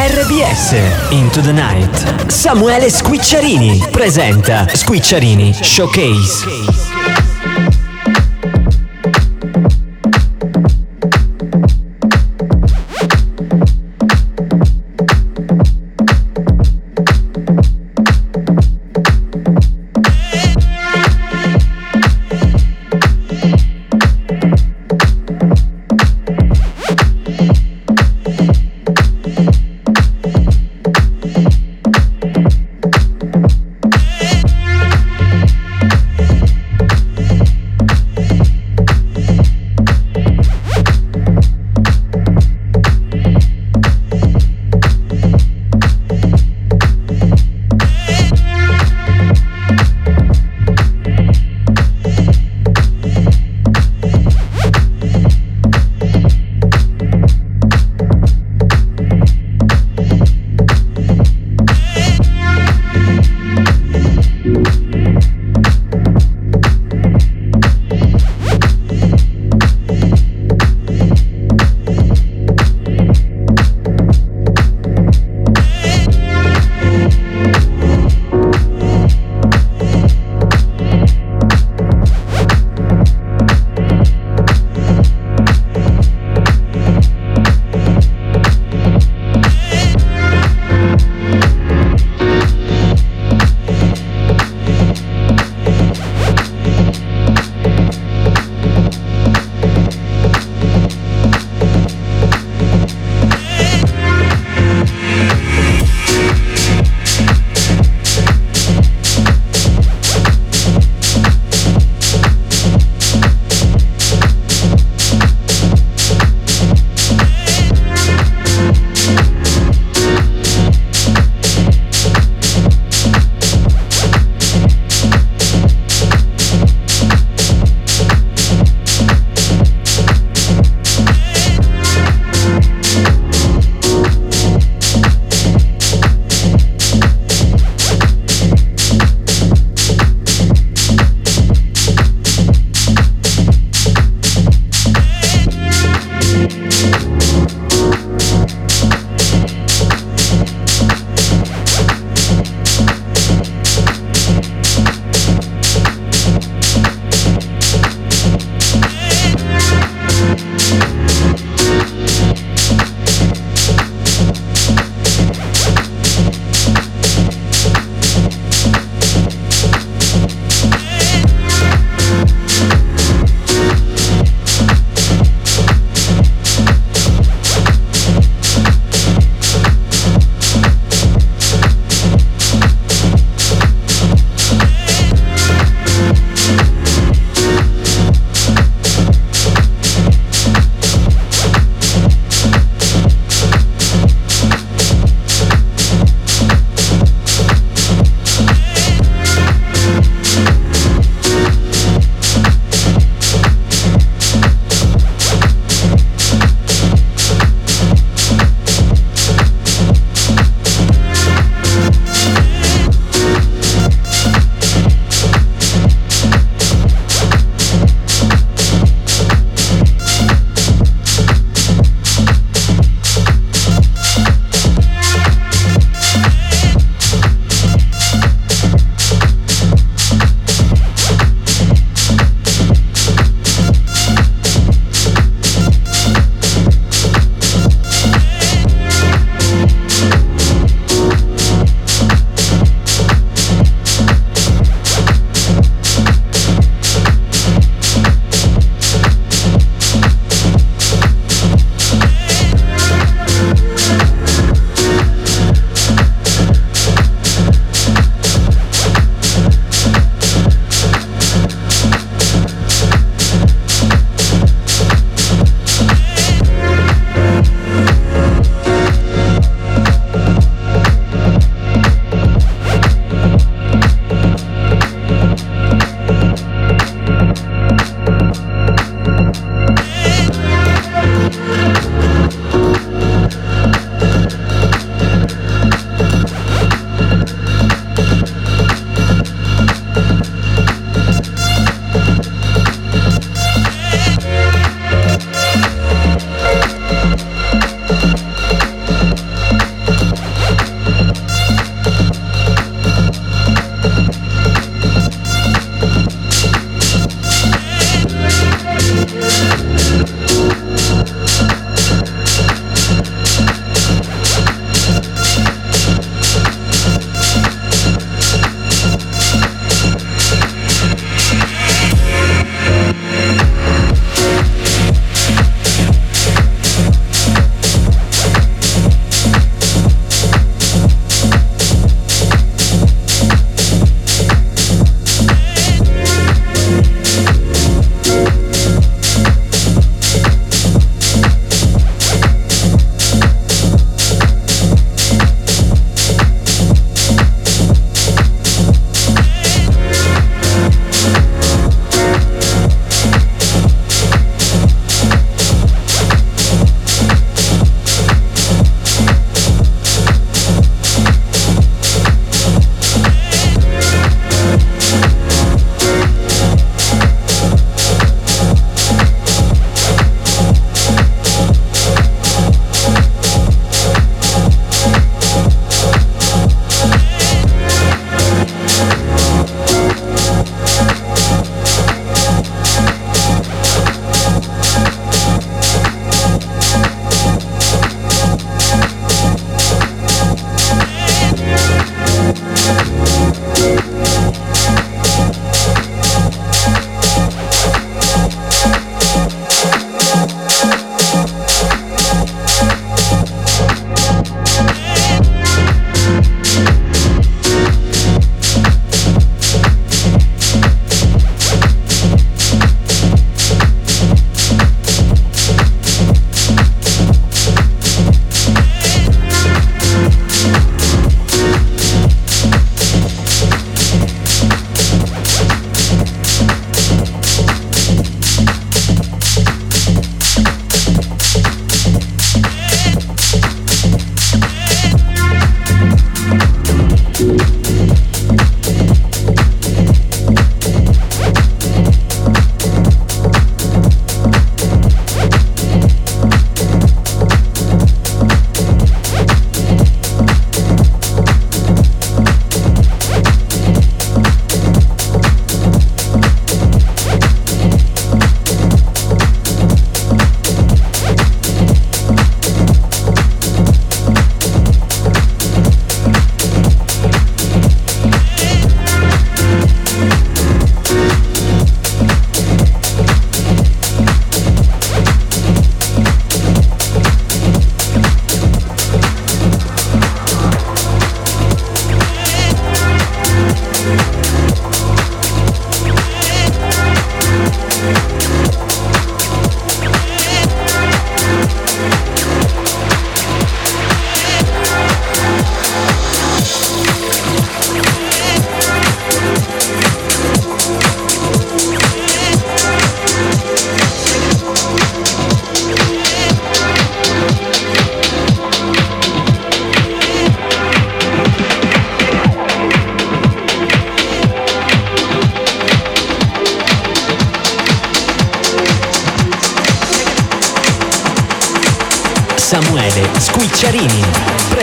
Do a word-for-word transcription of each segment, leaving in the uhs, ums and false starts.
R B S Into the Night. Samuele Squicciarini presenta Squicciarini Showcase.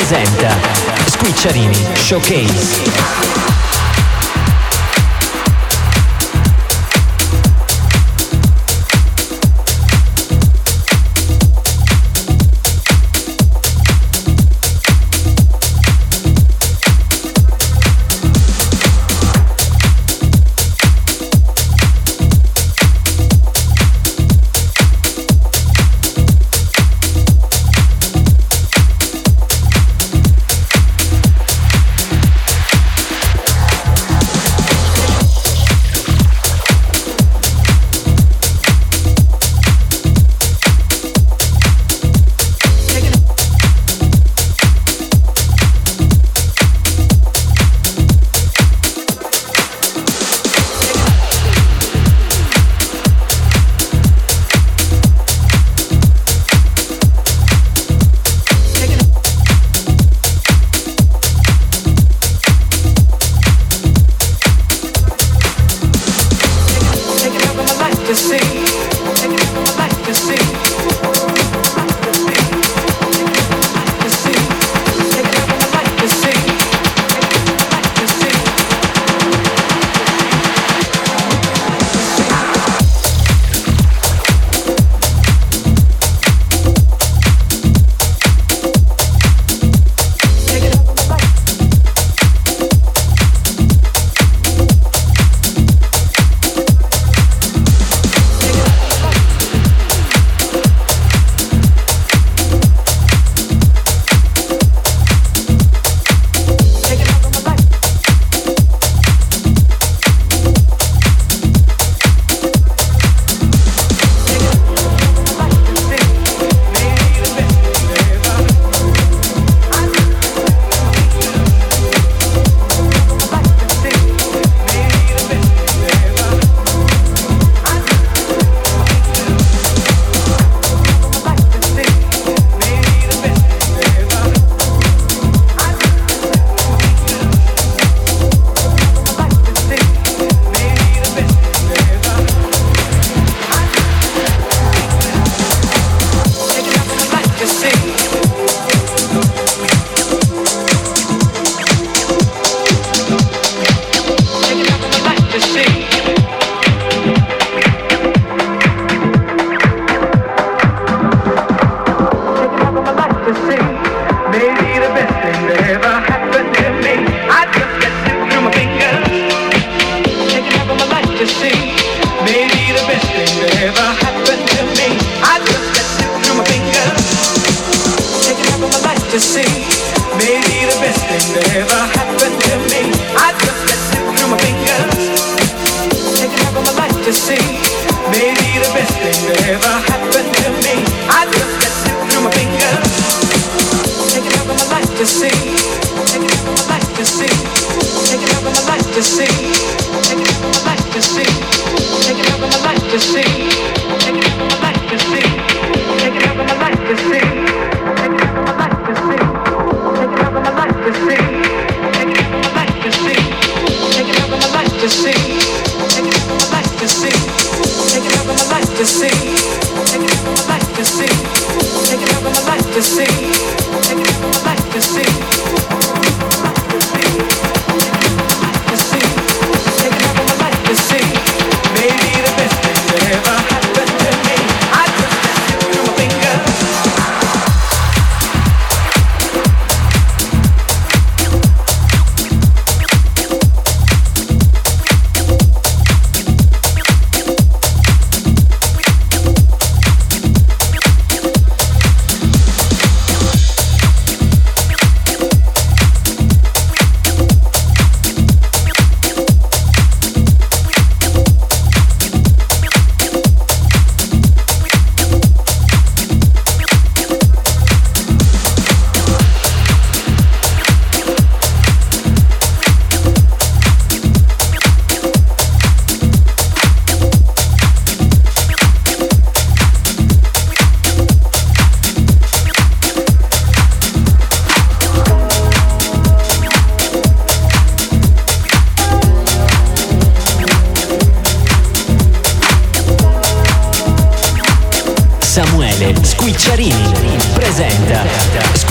presenta Squicciarini Showcase.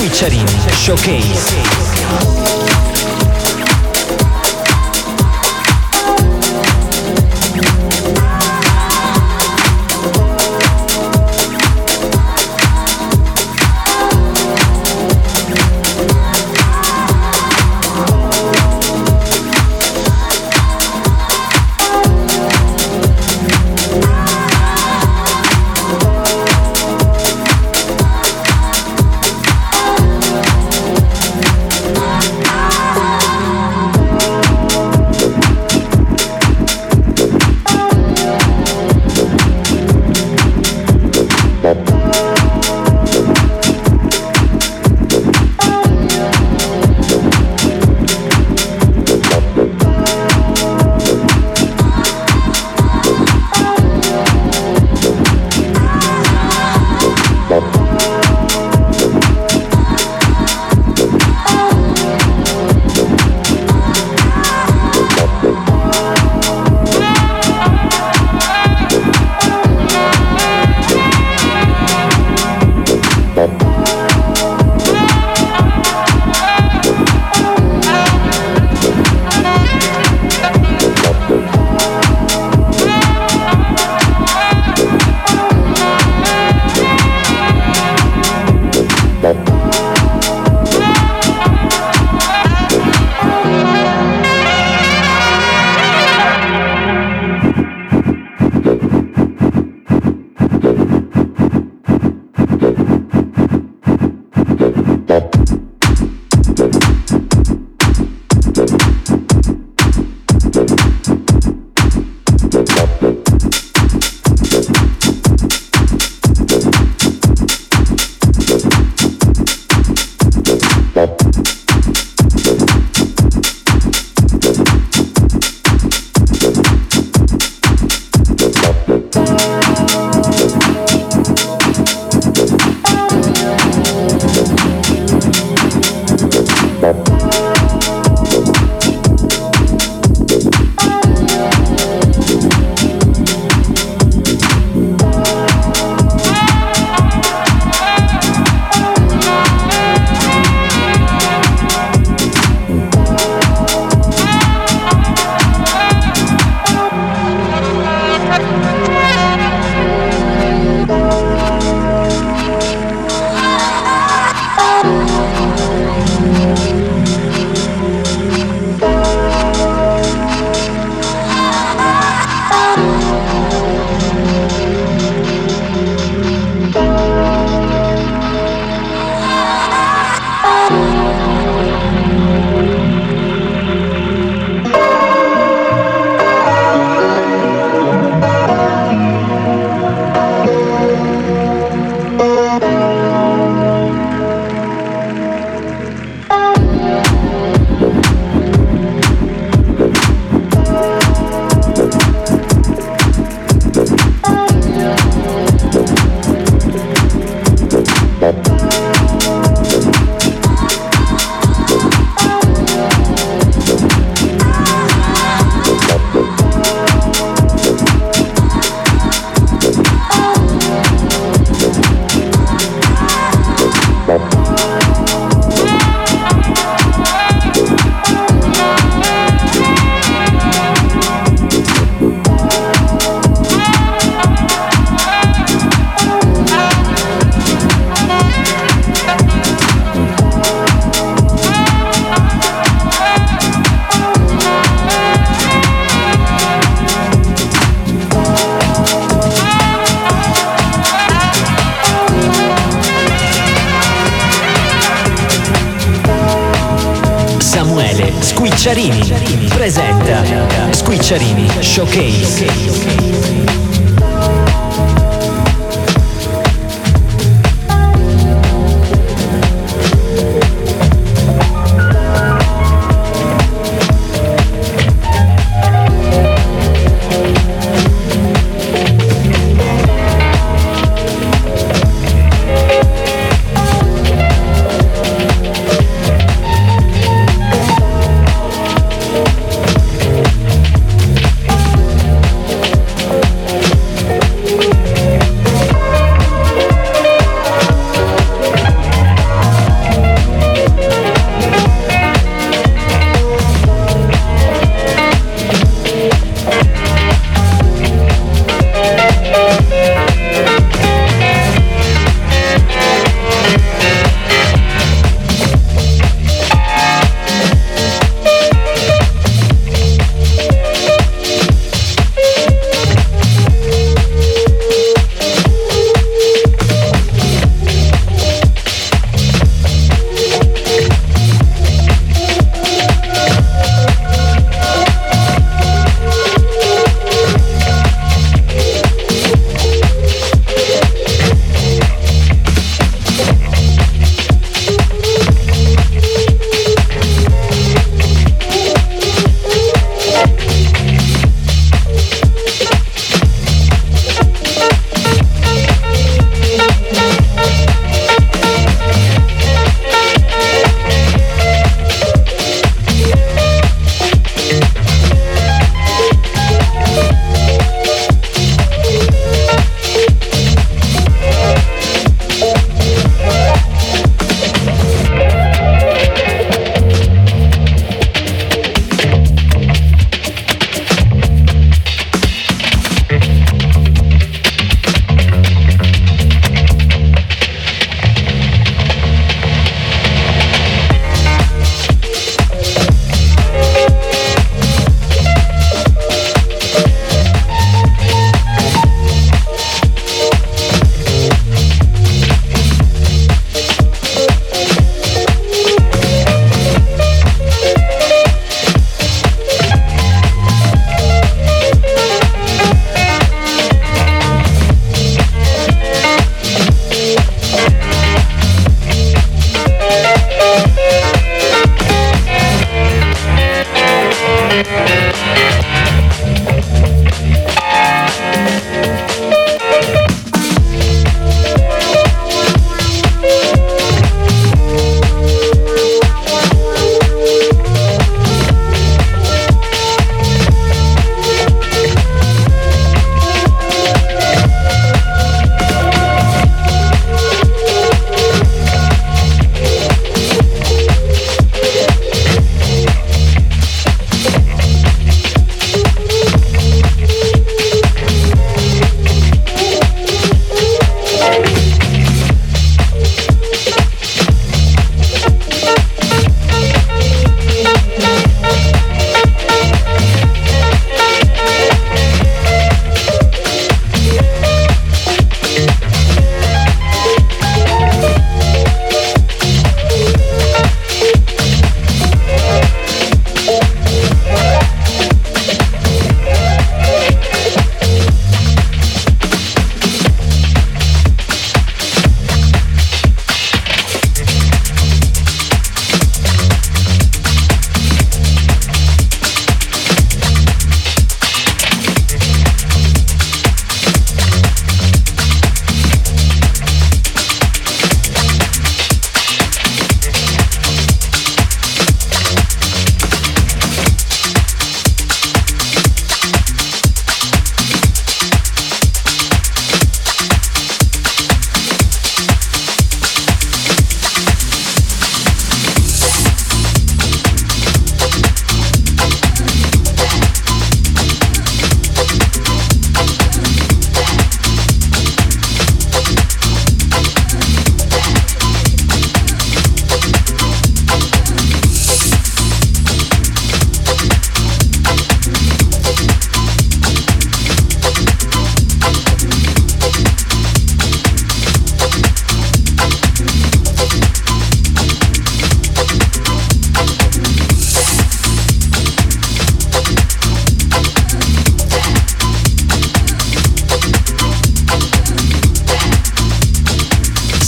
Squicciarini Showcase. Squicciarini presenta Squicciarini Showcase.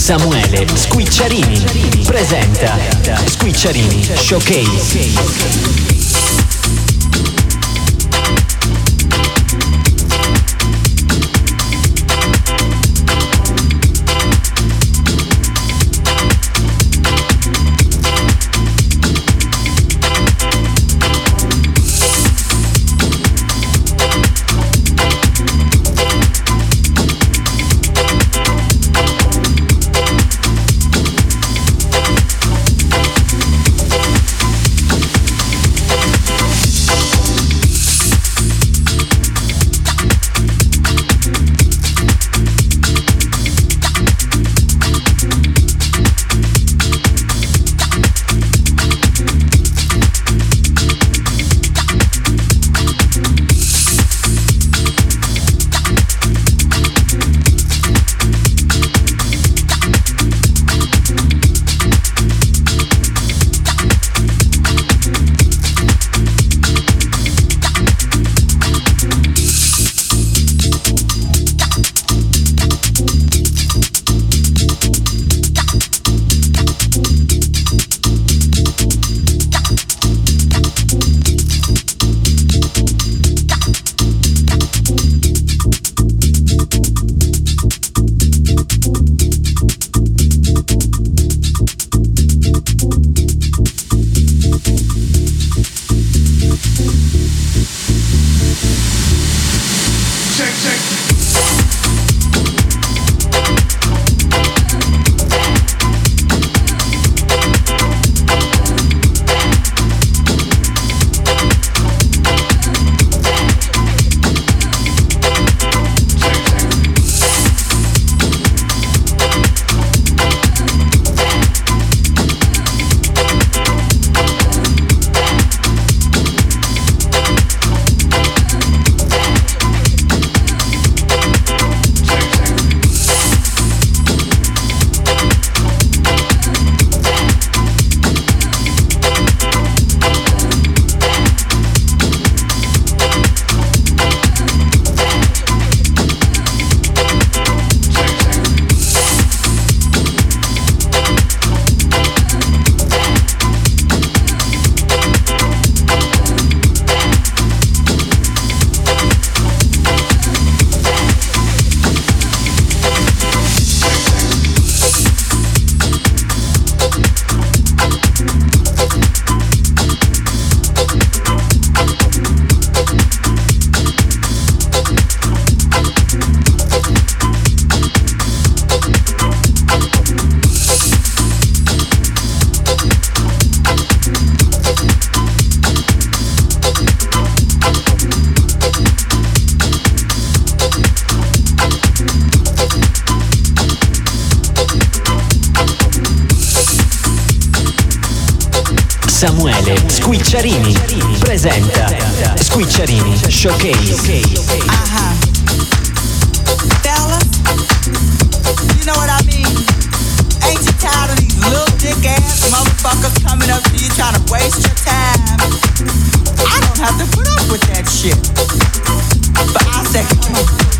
Samuele Squicciarini presenta Squicciarini Showcase. Samuele Squicciarini presenta Squicciarini Showcase. Uh-huh. Fellas, you know what I mean? Ain't you tired of these little dick ass motherfuckers coming up to you trying to waste your time? I don't have to put up with that shit. But I say, come on.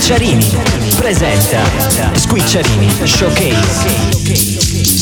Squicciarini presenta Squicciarini Showcase.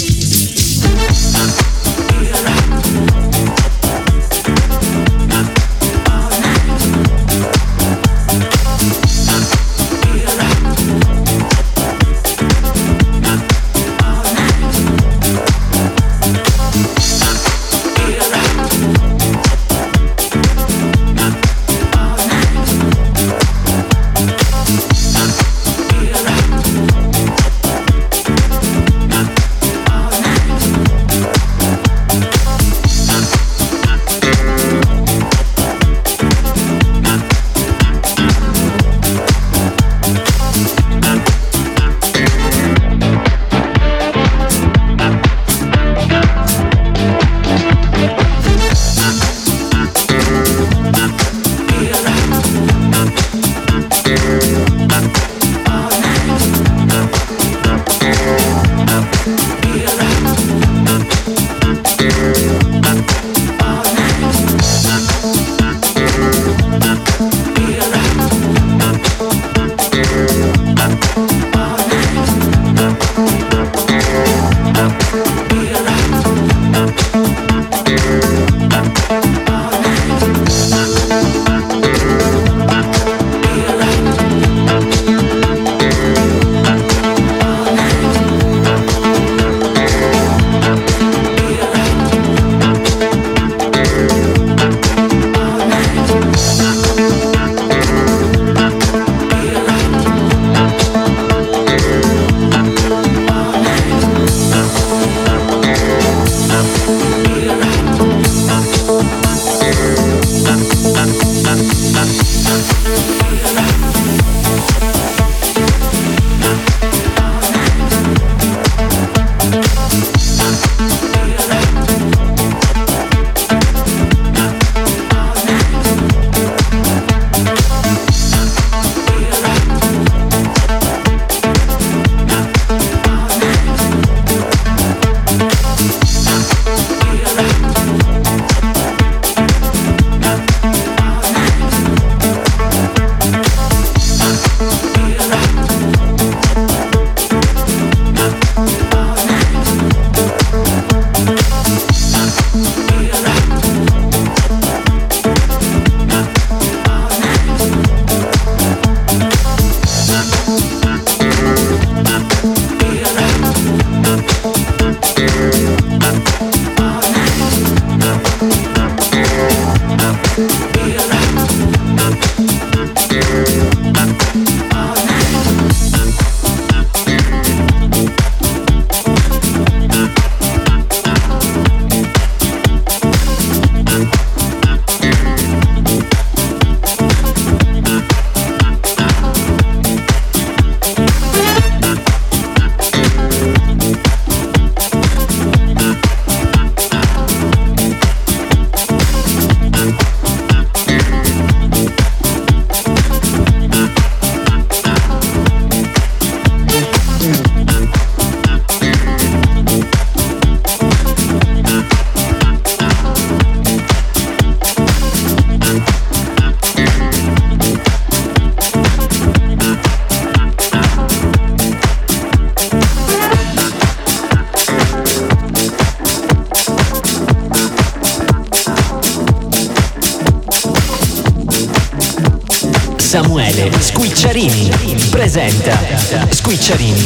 Samuele Squicciarini presenta Squicciarini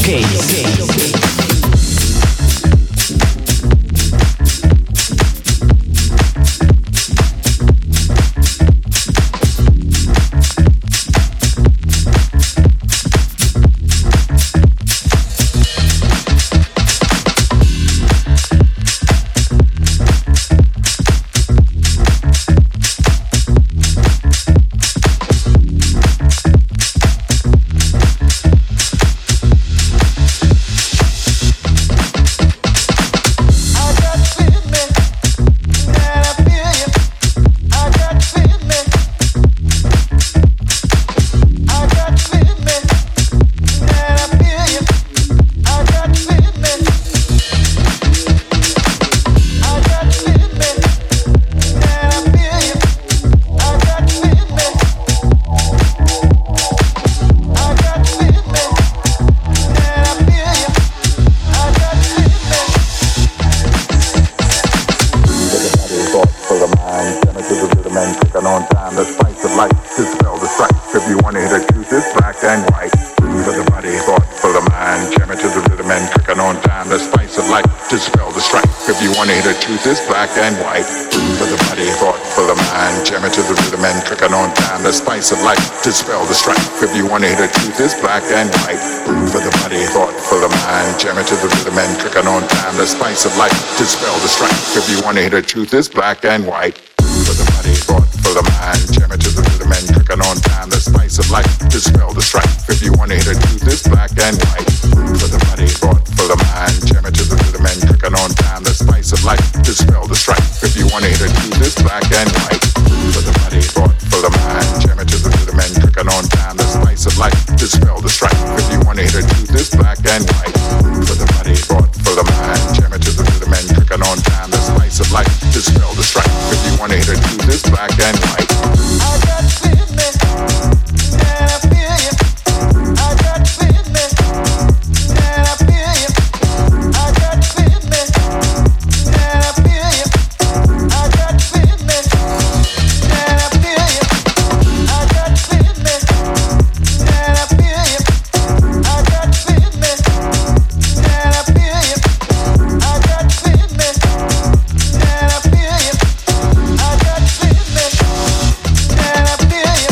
Showcase. on time, the spice of life, dispel the strife. If you wanna hear the truth, it's black and white. Food for the body, thought for the mind, jamming to the rhythm and cooking on time, the spice of life, dispel the strife. If you wanna hear the truth, it's black and white. Food for the body, thought for the mind, jamming to the rhythm and cooking on time, the spice of life, dispel the strife. If you wanna hear the truth, it's black and white. Food for the body, thought for the mind, jamming to the rhythm and cooking on time, the spice of life, dispel the strife. If you wanna hear the truth, it's black and white. Food for the body, thought for the mind, jamming to the rhythm and cooking on time, the spice of life, dispel the strife. If you wanna hear the truth, it's black and white. Food for the body, thought for the mind, jamming to the rhythm and cooking on time, the spice of life, dispel the strife. If you wanna hear the truth, it's black and white. Food for the body, thought for the mind, jamming to the rhythm and cooking on time, the spice of life, dispel the strife. If you wanna hear the truth, it's black and white. I got feeling, and I feel you. I got feeling, and I feel you. I got feeling, and I feel you. I got feeling, and I feel you. I got feeling, and I feel you. I got feeling, and I feel you. I got feeling, and I feel you. I got feeling, and I feel you.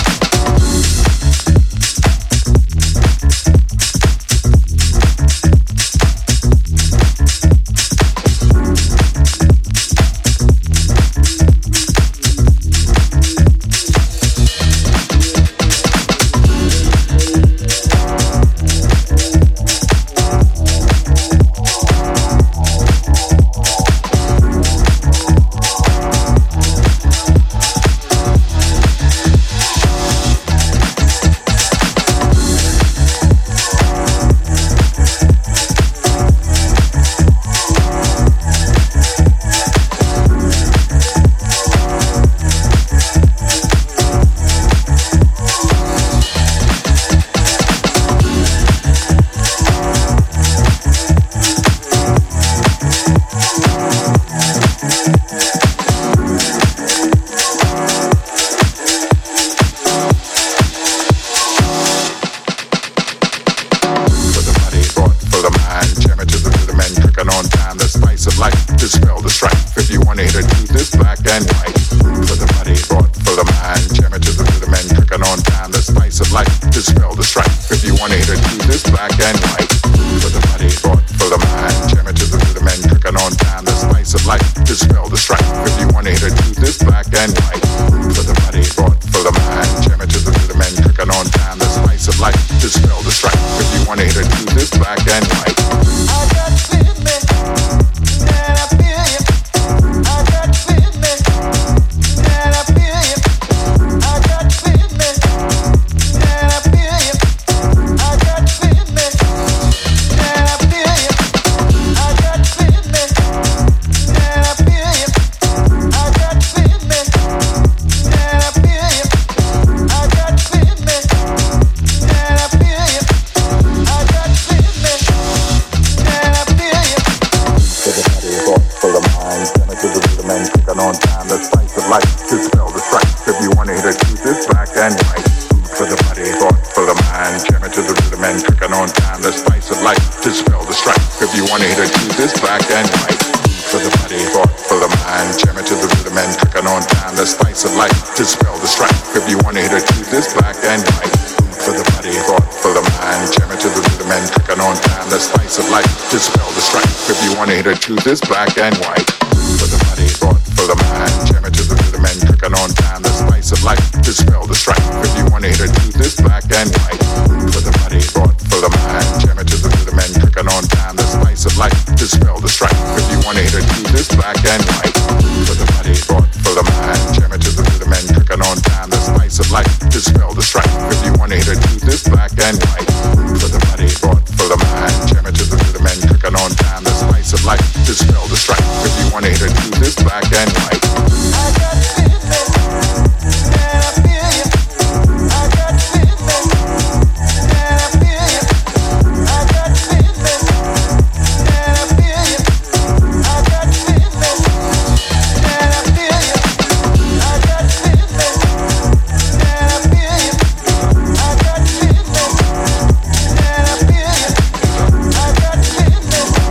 For the body, thought for the mind, jamming to the rhythm and cooking on time, the spice of life, dispel the strife. If you wanna hear the truth, it's black and white. Food for the body, thought for the mind, jamming to the rhythm and cooking on time, the spice of life, dispel the strife. If you wanna hear the truth, it's black and white. Food for the body, thought for the mind, jamming to the rhythm and cooking on time, the spice of life, dispel the strife. If you wanna hear the truth, it's black and white. Food for the body, thought for the mind, jamming to the rhythm and cooking on time, the spice of life, dispel the strife. If you wanna hear the truth, it's black and white. I got feeling, and I feel you. I got feeling, and I feel you. I got feeling, and I feel you. I got feeling, and I feel you. I got feeling, and I feel you. I got feeling, and I feel you. I got feeling, and I feel you. I got feeling, and I feel you. For the body, thought for the mind, jamming to the rhythm and cooking on time, the spice of life, dispel the strife. If you wanna hear the truth, it's black and white. Food for the body, thought for the mind, jamming to the rhythm and cooking on time, the spice of life, dispel the strife. If you wanna hear the truth, it's black and white. Food for the body, thought for the mind, jamming to the rhythm and cooking on time, the spice of life, dispel the strife. If you wanna hear the truth, it's black and white. Food for the body, thought for the mind, jamming to the rhythm and cooking on time, the spice of life, dispel the strife. If you wanna hear the truth, it's black and white. For the body, thought for the mind, jamming to the rhythm and cooking on time, the spice of life, dispel the strife. If you wanna hear the truth, it's black and white. For the body, thought for the mind, jamming to the rhythm and cooking on time, the spice of life, dispel the strife. If you wanna hear the truth, it's black and white. For the body, thought for the mind, jamming to the rhythm and cooking on time, the spice of life, dispel the strife. If you wanna hear the truth, it's black and white. For the body, thought for the mind, jamming to the rhythm and cooking on time, the spice of life, dispel the strife. If you wanna hear the truth, it's black and white. I got feeling, and I feel you. I got feeling, and I feel you. I got feeling, and I feel you. I got feeling, and I feel you. I got feeling, and I feel you. I got feeling, and I feel you. I got feeling, and I feel you.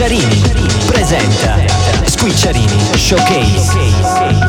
Squicciarini presenta Squicciarini Showcase.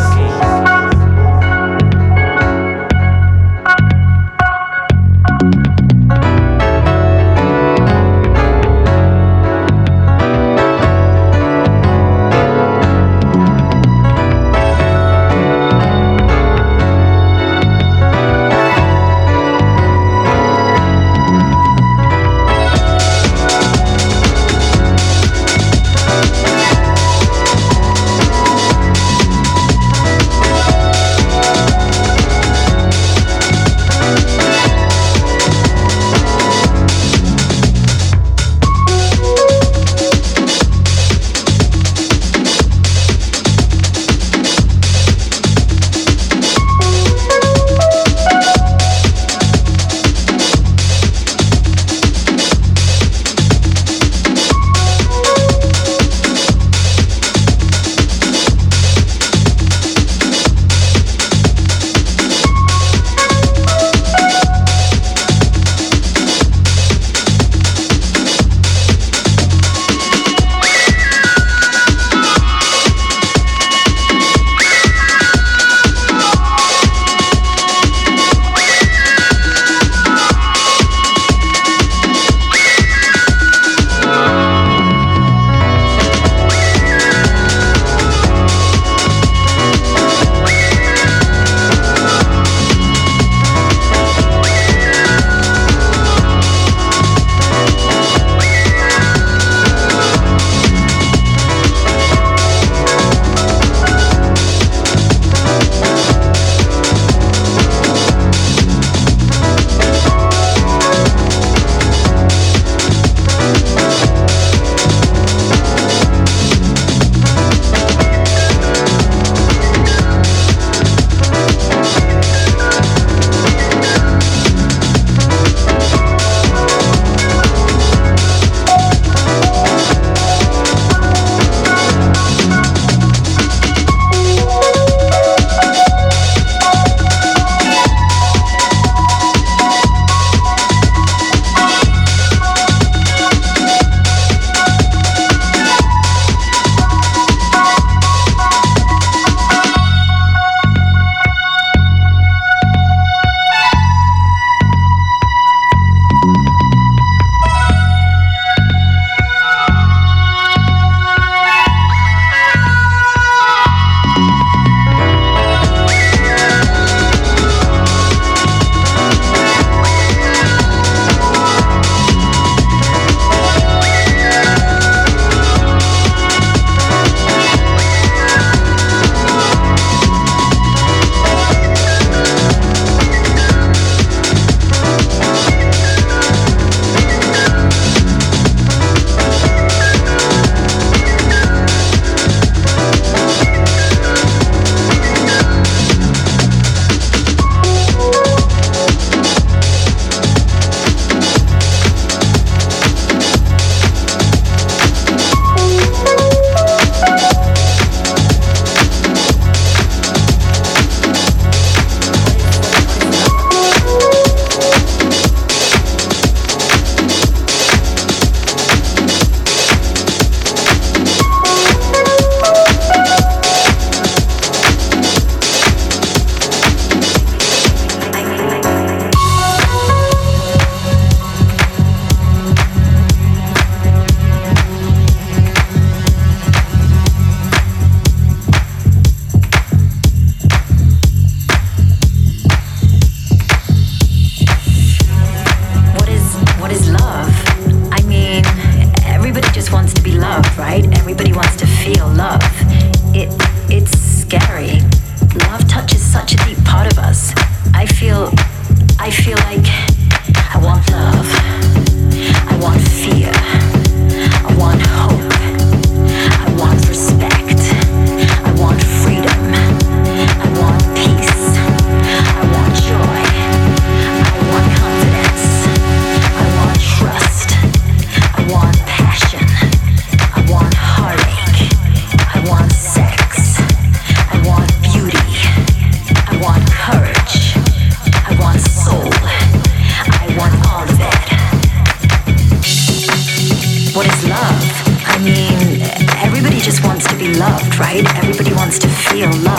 right? Everybody wants to feel love.